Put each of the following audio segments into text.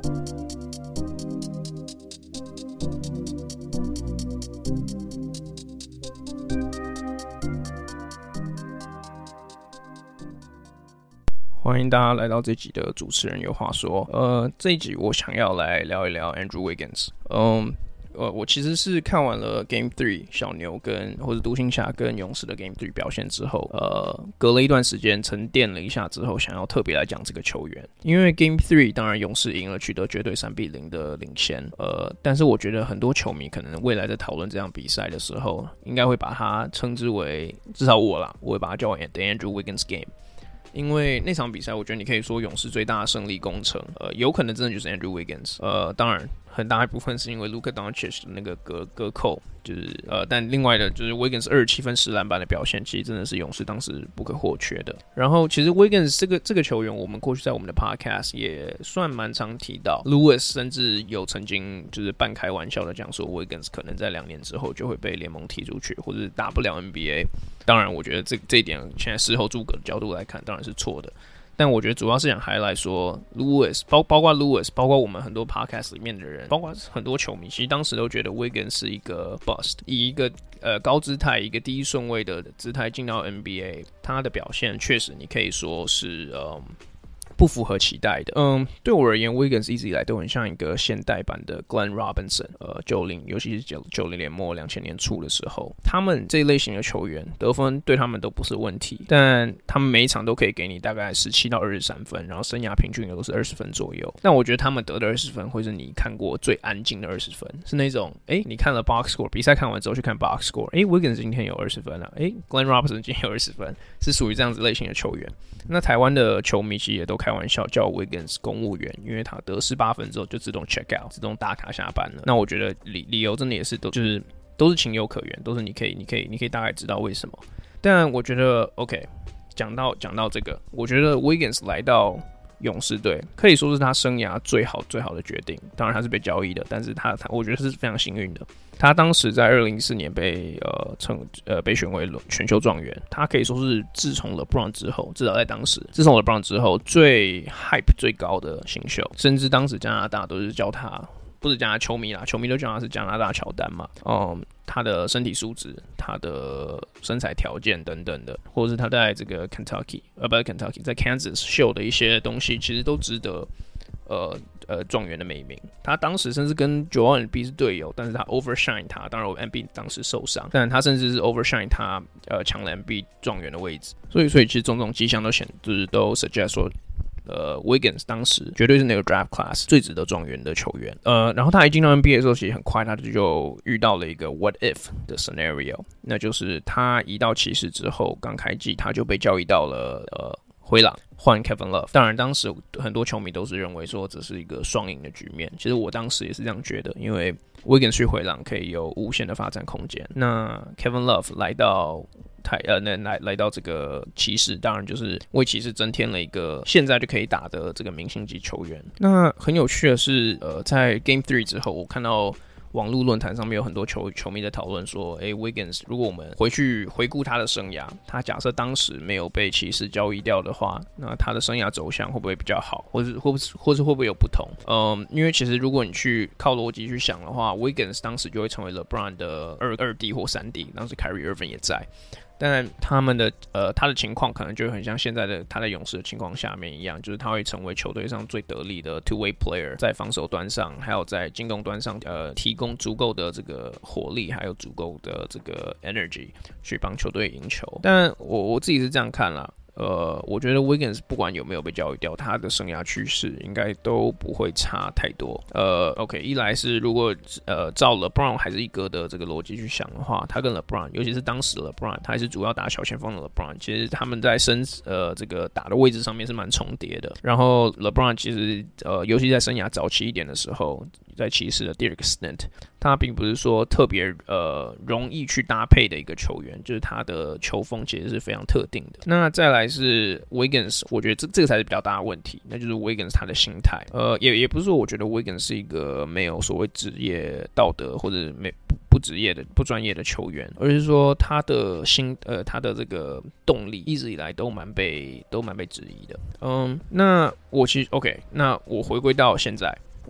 歡迎大家來到這集的主持人有話說。這一集我想要來聊一聊 Andrew Wiggins。我其實是看完了 Game 3小牛或者獨行俠跟勇士的 Game 3表現之後，隔了一段時間沉澱了一下之後，想要特別來講這個球員。因為 Game 3當然勇士贏了，取得絕對3-0的領先。但是我覺得很多球迷可能未來在討論這場比賽的時候，應該會把它稱之為，至少我會把它叫 The Andrew Wiggins Game。因為那場比賽，我覺得你可以說勇士最大的勝利工程，有可能真的就是 Andrew Wiggins。當然很大一部分是因為 Luka Doncic 的那個隔扣，就是但另外的就是 Wiggins 27分10籃板的表現，其實真的是勇士當時不可或缺的。然後其實 Wiggins 這個球員，我們過去在我們的 Podcast 也算蠻常提到 ，Lewis 甚至有曾經就是半開玩笑的講說 ，Wiggins 可能在2年之後就會被聯盟踢出去，或者打不了 NBA。當然，我覺得這一點現在事後諸葛的角度來看，當然是錯的。但我覺得主要是想 highlight 說 ，Lewis 包括 Lewis， 包括我們很多 podcast 裡面的人，包括很多球迷，其實當時都覺得 Wiggins 是一個 bust， 以一個高姿態、一個第一順位的姿態進到 NBA， 他的表現確實你可以說是不符合期待的。对我而言 ，Wiggins 一直以來都很像一個現代版的 Glenn Robinson。尤其是90年末2000年初的時候，他們這一類型的球員得分对他們都不是問題，但他們每一场都可以給你大概17到23分，然後生涯平均也都是20分左右。但我觉得他們得的20分会是你看過最安靜的20分，是那種你看了 box score， 比賽看完之後去看 box score， Wiggins 今天有20分啊，Glenn Robinson 今天有20分，是屬於這樣子類型的球員。那台灣的球迷其實也都開玩笑叫 Wiggins 公務員，因為他得18分之後就自動 check out， 自動打卡下班了。那我覺得理由真的也是都是情有可原，都是你可以大概知道為什麼。但我覺得 OK， 講到這個，我覺得 Wiggins 來到勇士隊可以說是他生涯最好的決定。當然他是被交易的，但是他我觉得是非常幸運的。他当時在2014年被選為選秀狀元，他可以說是自從 LeBron 之後，至少在當時，自從 LeBron 之後最 hype 最高的新秀，甚至当时加拿大都是叫他，不是叫他球迷啦，球迷都叫他是加拿大喬丹嘛。他的身体素質、他的身材条件等等的，或者是他在这個 Kentucky 在 Kansas 秀的一些東西，其實都值得狀元的美名。他當時甚至跟 Joel Embiid 是隊友，但是他 overshine 他，當然 Embiid 當時受傷，但他甚至是 overshine 他，搶了 Embiid 狀元的位置。所以其實種種跡象都 suggest 說，Wiggins 當時絕對是那個 draft class 最值得狀元的球員。然後他一進到 NBA 的時候，其實很快他就遇到了一個 what if 的 scenario， 那就是他移到騎士之後，剛開季他就被交易到了灰狼換 Kevin Love。當然當時很多球迷都是認為說這是一個雙贏的局面，其實我當時也是這樣覺得，因為 Wiggins 去灰狼可以有無限的發展空間，那 Kevin Love 来到這個騎士，當然就是為騎士增添了一個現在就可以打的這個明星級球員。那很有趣的是，在 Game 3之後，我看到網絡論壇上面有很多球迷在討論說，Wiggins 如果我們回顧他的生涯，他假設當時沒有被騎士交易掉的話，那他的生涯走向會不會比較好，或是會不會有不同？因為其實如果你去靠邏輯去想的話 ，Wiggins 當時就會成為 LeBron 的二弟或三弟，當時 Kyrie Irving 也在。但他的情況可能就很像現在的他在勇士的情況下面一樣，就是他會成為球隊上最得力的 two-way player， 在防守端上還有在進攻端上提供足夠的这個火力，還有足夠的這個 energy 去幫球隊贏球。但我自己是這樣看啦。我覺得 Wiggins 不管有沒有被交易掉，他的生涯趨勢應該都不會差太多。OK， 一來是如果照 LeBron 還是一哥的這個邏輯去想的話，他跟 LeBron， 尤其是當時的 LeBron， 他還是主要打小前鋒的 LeBron， 其實他們在這個打的位置上面是蠻重疊的。然後 LeBron 其實尤其在生涯早期一點的時候，在騎士的第二個 stint， 他並不是說特別容易去搭配的一個球員，就是他的球風其實是非常特定的。那再來是 Wiggins， 我覺得這個才是比較大的問題，那就是 Wiggins 他的心態。也不是說我覺得 Wiggins 是一個沒有所謂職業道德或者不職業的不專業的球員，而是說他的他的這個動力一直以來都蠻被質疑的。那我其實 OK， 那我回歸到現在。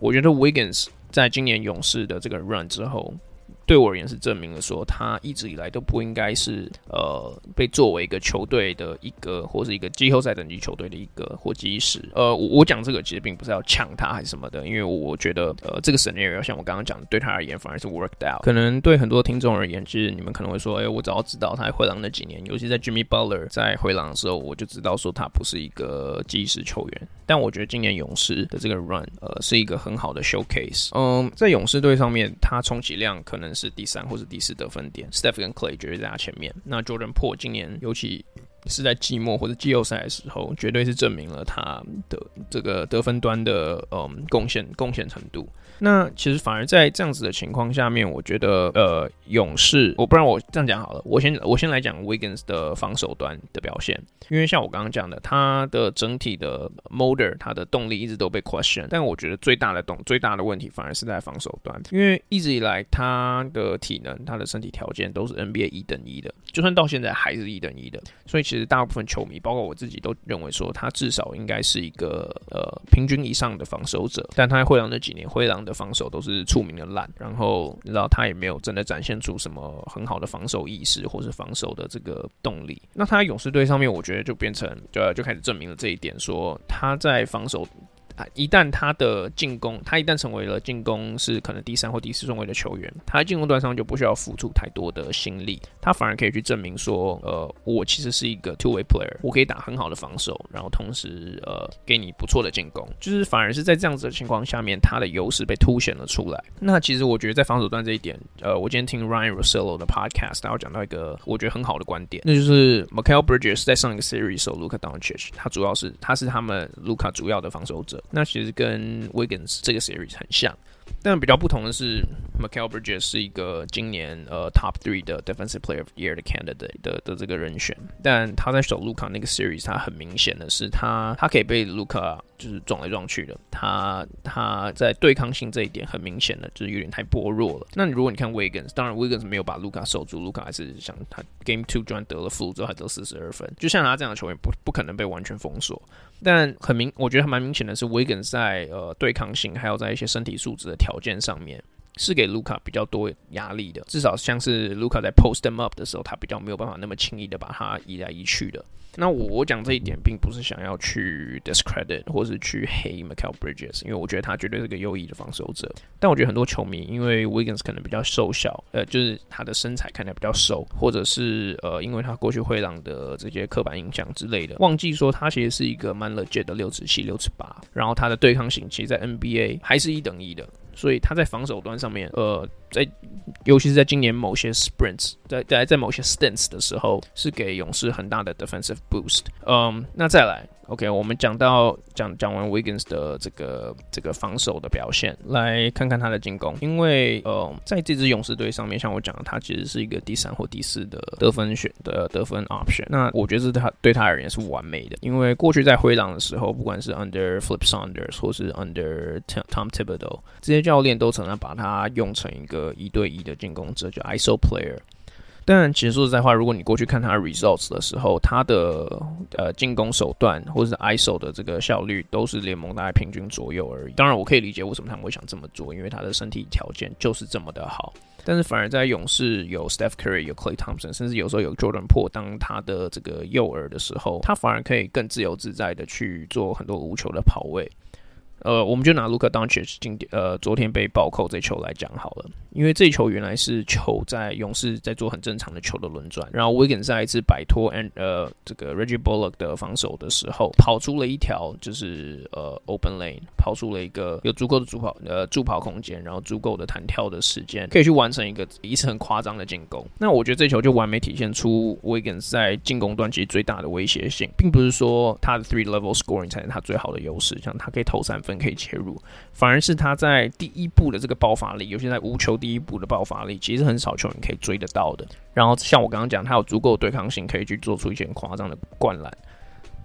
我覺得 Wiggins 在今年勇士的這個 run 之後，對我而言是證明了說，他一直以來都不應該是被作為一個球隊的一個，或是一個季後賽等級球隊的一個或基石。我講這個其實並不是要嗆他還是什麼的，因為我覺得這個 scenario 像我剛剛講的，對他而言反而是 worked out。可能對很多聽眾而言，其實你們可能會說，我早知道他在灰狼那幾年，尤其在 Jimmy Butler 在灰狼的時候，我就知道說他不是一個基石球員。但我覺得今年勇士的這個 run 是一個很好的 showcase。在勇士隊上面，他充其量可能是第3或是第4得分點 ，Steph 跟 Clay 絕對在他前面。那 Jordan Poole 今年尤其是在季末或者季後賽的時候，絕對是證明了他的這個得分端的貢獻程度。那其實反而在這樣子的情況下面，我覺得勇士，不然我這樣講好了，我先來講 Wiggins 的防守端的表現，因為像我剛剛講的，他的整體的 motor， 他的動力一直都被 question， 但我覺得最大的問題反而是在防守端，因為一直以來他的体能、他的身體條件都是 NBA 1等1的，就算到現在還是1等1的，所以其實大部分球迷，包括我自己，都認為說他至少應該是一個平均以上的防守者，但他在灰狼那幾年，灰狼的防守都是出名的爛，然後你知道他也沒有真的展現出什麼很好的防守意識或是防守的这個動力。那他在勇士隊上面，我覺得就變成就開始證明了這一點，說他在防守。一旦他的進攻，他一旦成為了進攻是可能第3或第4順位的球員，他在進攻端上就不需要付出太多的心力，他反而可以去證明說，我其實是一個 two-way player， 我可以打很好的防守，然後同時給你不錯的進攻，就是反而是在這樣子的情況下面，他的優勢被凸顯了出來。那其實我覺得在防守端這一點，我今天聽 Ryan Russillo 的 podcast， 他有講到一個我覺得很好的觀點，那就是 Mikal Bridges 在上一個 series 時候 Luka Doncic， 他是他們 Luka 主要的防守者。那其實跟 Wiggins 這個 series 很像，但比較不同的是 Mikal Bridges 是一個今年top 3的 Defensive Player of the Year 的 candidate 的這個人選，但他在守 Luka 那個 series， 他很明顯的是他可以被 Luka 就是撞來撞去的，他在對抗性這一點很明顯的就是有點太薄弱了。那如果你看 Wiggins， 当然 Wiggins 沒有把 Luka 守住， Luka 還是像他 Game 2居然得了負之後還得42分，就像他這樣的球員不可能被完全封鎖。但我覺得還蠻明顯的是 Wiggins 在對抗性還有在一些身體素質的條件上面是給 Luka 比較多壓力的，至少像是 Luka 在 post him up 的時候，他比较沒有辦法那麼輕易的把他移來移去的。那我講這一點並不是想要去 discredit 或是去黑 Mikal Bridges， 因為我覺得他絕對是個優異的防守者。但我覺得很多球迷因為 Wiggins 可能比較瘦小，就是他的身材看起來比較瘦，或者是因為他過去灰狼的這些刻板印象之類的，忘記說他其實是一個蠻 legit 的6'7", 6'8", 然後他的對抗性其實在 NBA 還是1等1的。所以他在防守端上面，尤其是在今年某些 sprints， 在某些 stints 的時候，是給勇士很大的 defensive boost。那再来 ，OK， 我們講完 Wiggins 的這個防守的表現，來看看他的進攻。因為在這支勇士隊上面，像我講的，他其實是一個第3或第4的得分 option。那我覺得對他而言是完美的，因為過去在灰狼的時候，不管是 under Flip Saunders 或是 under Tom Thibodeau， 這些教練都曾經把他用成一個1對1的進攻者，就 ISO player。但其實說實在話，如果你過去看他的 results 的時候，他的進攻手段或者是 ISO 的這個效率都是聯盟大概平均左右而已。當然，我可以理解為什麼他們會想這麼做，因為他的身體條件就是這麼的好。但是反而在勇士有 Steph Curry、有 Klay Thompson， 甚至有時候有 Jordan Poole 當他的這個诱餌的時候，他反而可以更自由自在的去做很多無球的跑位。我們就拿 Luka Doncic 昨天被暴扣這球來講好了，因為這球原來是球在勇士在做很正常的球的輪轉，然後 Wiggins 在一次擺脫這個 Reggie Bullock 的防守的時候，跑出了一條就是open lane， 跑出了一個有足夠的助跑空間，然後足夠的彈跳的時間，可以去完成一次很誇張的進攻。那我覺得這球就完美體現出 Wiggins 在進攻端其實最大的威脅性，並不是說他的 3 level scoring 才是他最好的優勢，像他可以投3分可以切入，反而是他在第一步的這個爆發力，尤其在無球第一步的爆發力，其實很少球員可以追得到的。然後像我剛剛講，他有足夠的對抗性，可以去做出一些很誇張的灌籃。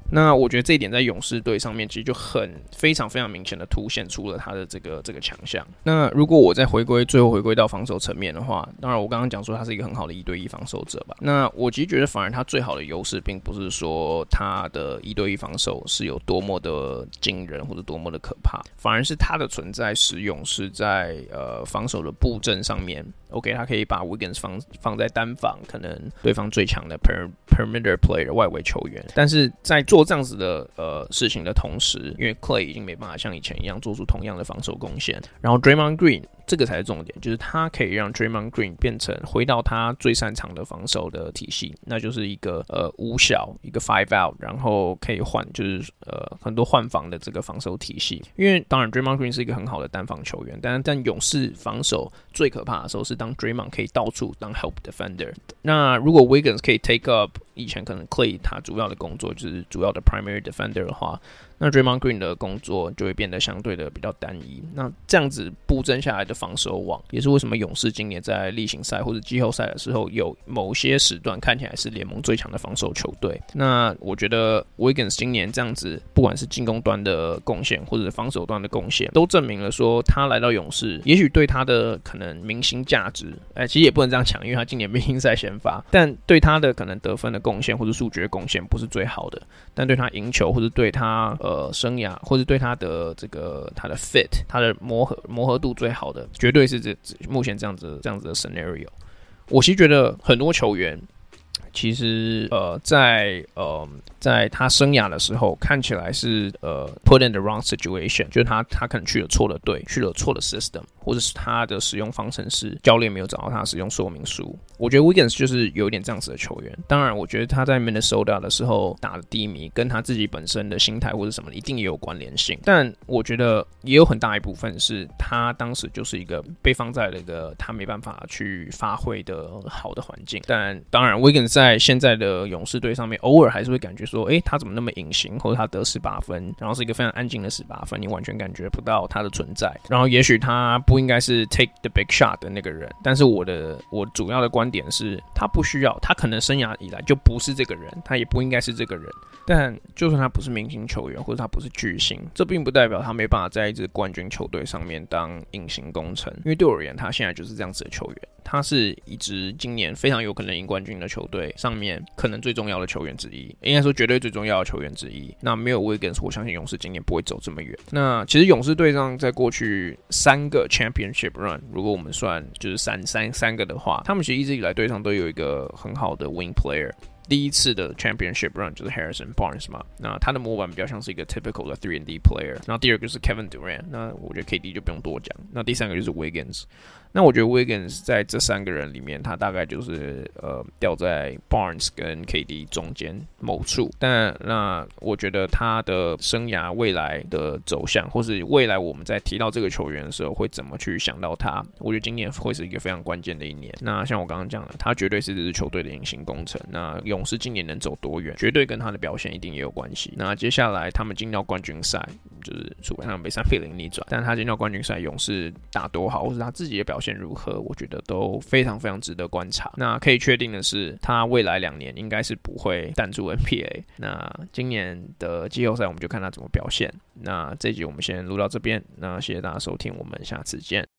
那我覺得這一點在勇士隊上面其實就非常非常明顯的凸顯出了他的這個強項。那如果我再最後回歸到防守層面的話，當然我剛剛講說他是一個很好的1對1防守者吧。那我其實覺得反而他最好的優勢並不是說他的1對1防守是有多麼的驚人或者多麼的可怕，反而是他的存在使用是在防守的布陣上面。OK， 他可以把 Wiggins 放在單防，可能对方最強的 perimeter player 外圍球員，但是在做這樣子的事情的同時，因為 Clay 已經沒辦法像以前一樣做出同樣的防守貢獻，然後 Draymond Green 這個才是重點，就是他可以讓 Draymond Green 變成回到他最擅長的防守的體系，那就是一個5小一個 5 out， 然後可以換就是很多換防的這個防守體系。因為當然 Draymond Green 是一個很好的单防球員，但勇士防守最可怕的時候是當 Draymond 可以到處當 help defender。那如果 Wiggins 可以 take up 以前可能 Clay 他主要的工作就是主要的 primary defender 的話，那 Draymond Green 的工作就會變得相对的比較單一。那這樣子布陣下來的防守網，也是為什麼勇士今年在例行賽或者季後賽的時候，有某些時段看起來是聯盟最強的防守球隊。那我覺得 Wiggins 今年這樣子，不管是進攻端的貢獻或者是防守端的貢獻，都證明了說他來到勇士，也許對他的可能明星價值，其實也不能這樣講，因為他今年明星賽先發，但對他的可能得分的貢獻或者數據的貢獻不是最好的，但對他贏球或者對他生涯或者对他的他的 fit 他的磨合度最好的，絕对是目前这樣子的 scenario。我其實覺得很多球員其實在他生涯的時候看起來是put in the wrong situation， 就是他可能去了錯的隊，去了錯的 system， 或者是他的使用方程式教練沒有找到他的使用說明書。我覺得 Wiggins 就是有一點這樣子的球員。當然我覺得他在 Minnesota 的時候打的低迷跟他自己本身的心態或者什麼一定也有關聯性，但我覺得也有很大一部分是他當時就是一個被放在了一個他沒辦法去發揮的好的環境。但當然 Wiggins 在現在的勇士隊上面偶爾還是會感覺說他怎麼那麼隱形，或者他得18分，然後是一個非常安靜的18分，你完全感覺不到他的存在。然后也許他不应該是 take the big shot 的那個人，但是我主要的觀點是他不需要，他可能生涯以來就不是這個人，他也不應該是這個人。但就算他不是明星球員，或者他不是巨星，這並不代表他沒辦法在一支冠軍球隊上面當隱形功臣。因為對我而言，他現在就是這樣子的球員，他是一支今年非常有可能贏冠軍的球隊上面可能最重要的球員之一，應該說絕對最重要的球員之一。那沒有 Wiggins， 我相信勇士今年不會走這麼遠。那其實勇士隊上在過去3個 championship run， 如果我們算就是三個的話，他們其實一直以來隊上都有一個很好的 wing player。第一次的 championship run 就是 Harrison Barnes 嘛，那他的模板比較像是一個 typical 的 3&D player。然後第二個是 Kevin Durant， 那我覺得 KD 就不用多講。那第三個就是 Wiggins。那我覺得 Wiggins 在這3個人裡面，他大概就是掉在 Barnes 跟 KD 中間某處。但那我覺得他的生涯未來的走向，或是未來我們在提到這個球員的時候，會怎麼去想到他？我覺得今年會是一個非常關鍵的一年。那像我剛剛講的，他絕對是這支球隊的隱形功臣。那勇士今年能走多遠，絕對跟他的表現一定也有關係。那接下來他們進到冠軍賽，就是除非他們被3-0逆轉，但他進到冠軍賽，勇士打多好，或是他自己的表現如何，我覺得都非常非常值得觀察。那可以確定的是，他未來2年應該是不會淡出 NBA。那今年的季後賽，我們就看他怎麼表現。那這一集我們先錄到這邊，那謝謝大家收聽，我們下次見。